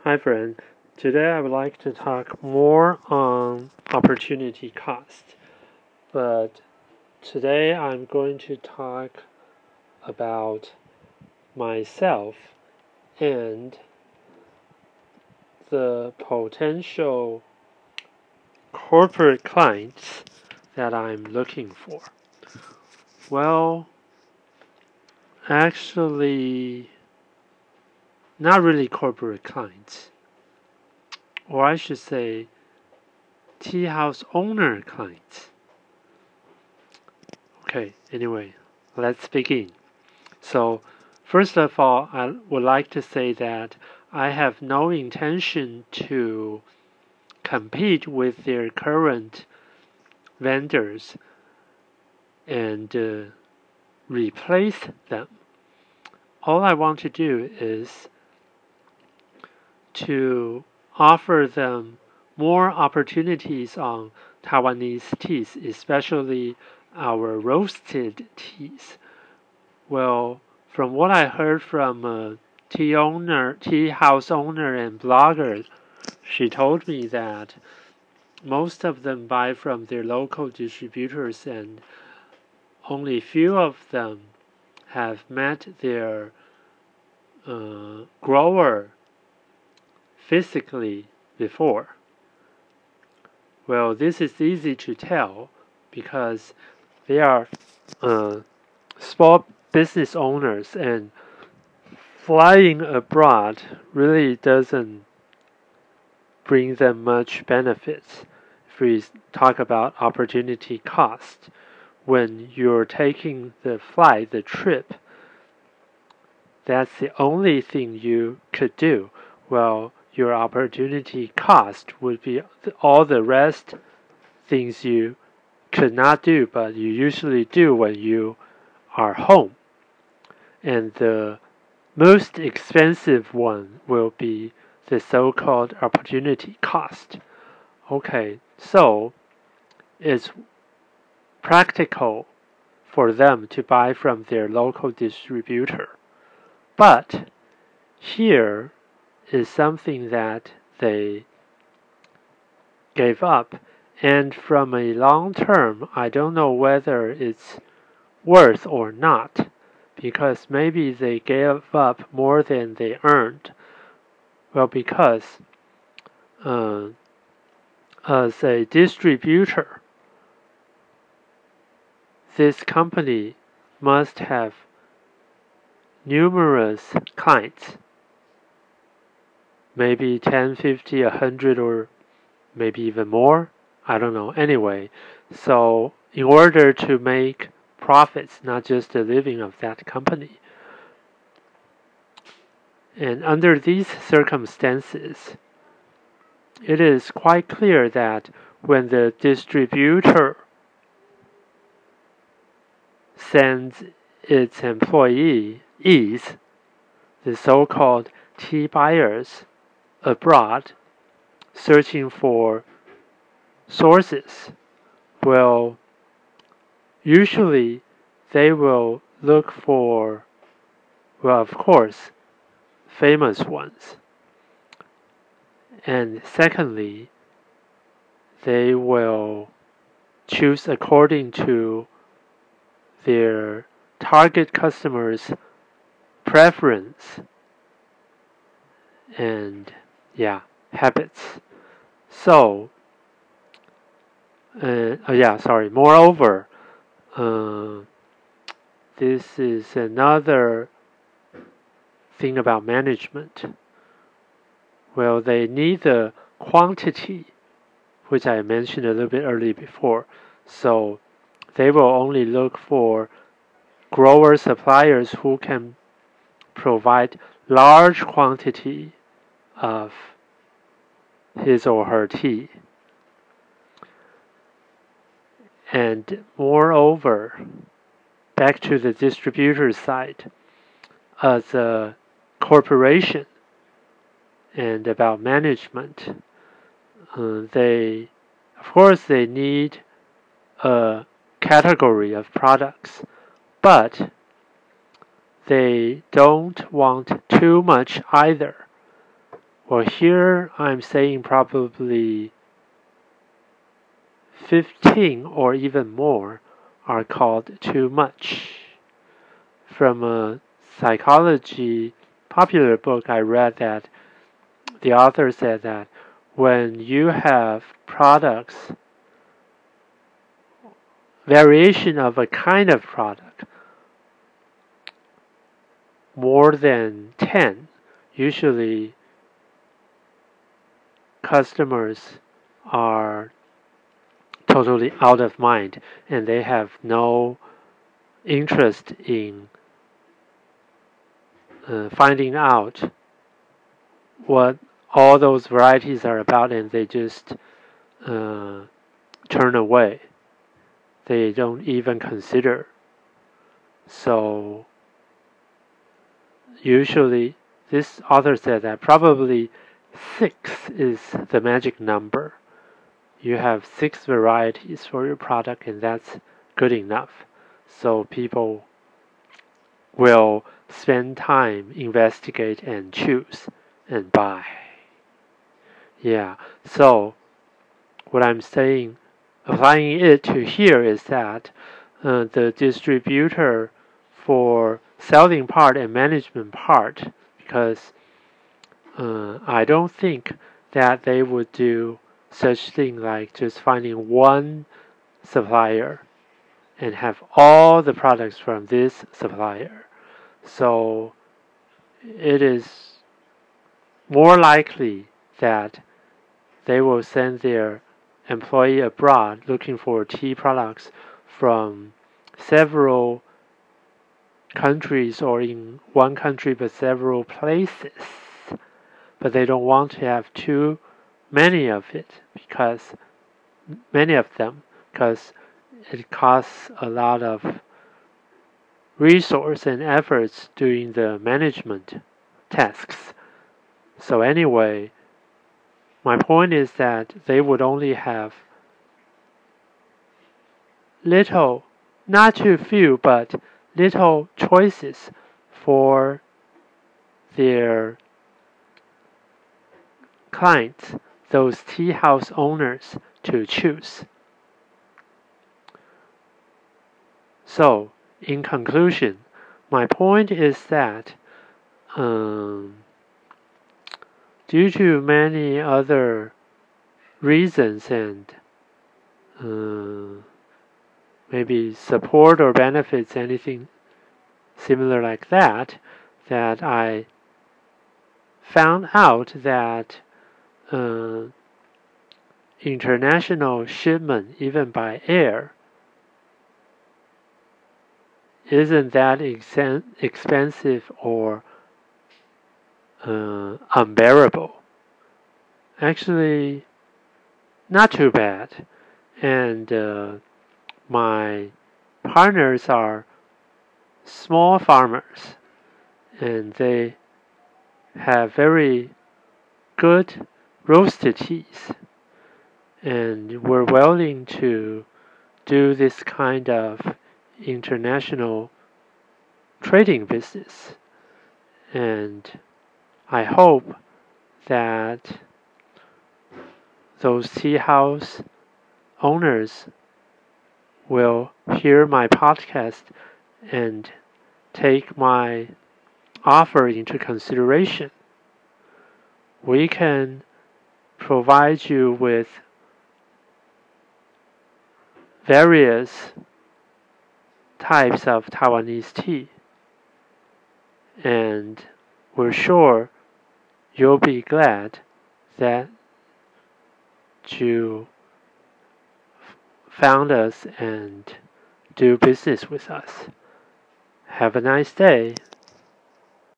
Hi friend, today I would like to talk more on opportunity cost, but today I'm going to talk about myself and the potential corporate clients that I'm looking for. Well, actually, not really corporate clients, or I should say tea house owner clients. Okay, anyway, let's begin. So, first of all, I would like to say that I have no intention to compete with their current vendors and replace them. All I want to do is to offer them more opportunities on Taiwanese teas, especially our roasted teas. Well, from what I heard from a tea house owner and blogger, she told me that most of them buy from their local distributors and only few of them have met their grower physically before. Well, this is easy to tell because they are small business owners, and flying abroad really doesn't bring them much benefits. If we talk about opportunity cost, when you're taking the flight, the trip, that's the only thing you could do. Well, your opportunity cost would be all the rest things you could not do, but you usually do when you are home. And the most expensive one will be the so-called opportunity cost. Okay, so it's practical for them to buy from their local distributor. But here is something that they gave up. And from a long term, I don't know whether it's worth or not, because maybe they gave up more than they earned. Well, because as a distributor, this company must have numerous clients, maybe 10, 50, 100, or maybe even more. I don't know. Anyway, so in order to make profits, not just the living of that company, and under these circumstances, it is quite clear that when the distributor sends its employees, the so-called tea buyers, abroad searching for sources, well, usually they will look for, well, of course, famous ones. And secondly, they will choose according to their target customers' preference and habits. So, moreover, this is another thing about management. Well, they need the quantity, which I mentioned a little bit earlier before. So they will only look for grower suppliers who can provide large quantity of his or her tea. And moreover, back to the distributor side, as a corporation and about management, they, of course, they need a category of products, but they don't want too much either. Well, here I'm saying probably 15 or even more are called too much. From a psychology popular book I read that the author said that when you have products, variation of a kind of product, more than 10, usually customers are totally out of mind and they have no interest in finding out what all those varieties are about, and they just turn away. They don't even consider. So usually this author said that probably 6 is the magic number. You have 6 varieties for your product, and that's good enough. So people will spend time, investigate, and choose and buy. Yeah, so what I'm saying, applying it to here is that the distributor for selling part and management part, because I don't think that they would do such thing like just finding one supplier and have all the products from this supplier. So it is more likely that they will send their employee abroad looking for tea products from several countries, or in one country but several places. But they don't want to have too many of it, because many of them, because it costs a lot of resource and efforts doing the management tasks. So anyway, my point is that they would only have little, not too few, but little choices for their clients, those tea house owners, to choose. So, in conclusion, my point is that due to many other reasons and maybe support or benefits, anything similar like that, that I found out that international shipment, even by air, isn't that expensive or unbearable. Actually, not too bad. And my partners are small farmers, and they have very good roasted teas, and we're willing to do this kind of international trading business. And I hope that those tea house owners will hear my podcast and take my offer into consideration. We can provide you with various types of Taiwanese tea, and we're sure you'll be glad that you found us and do business with us. Have a nice day.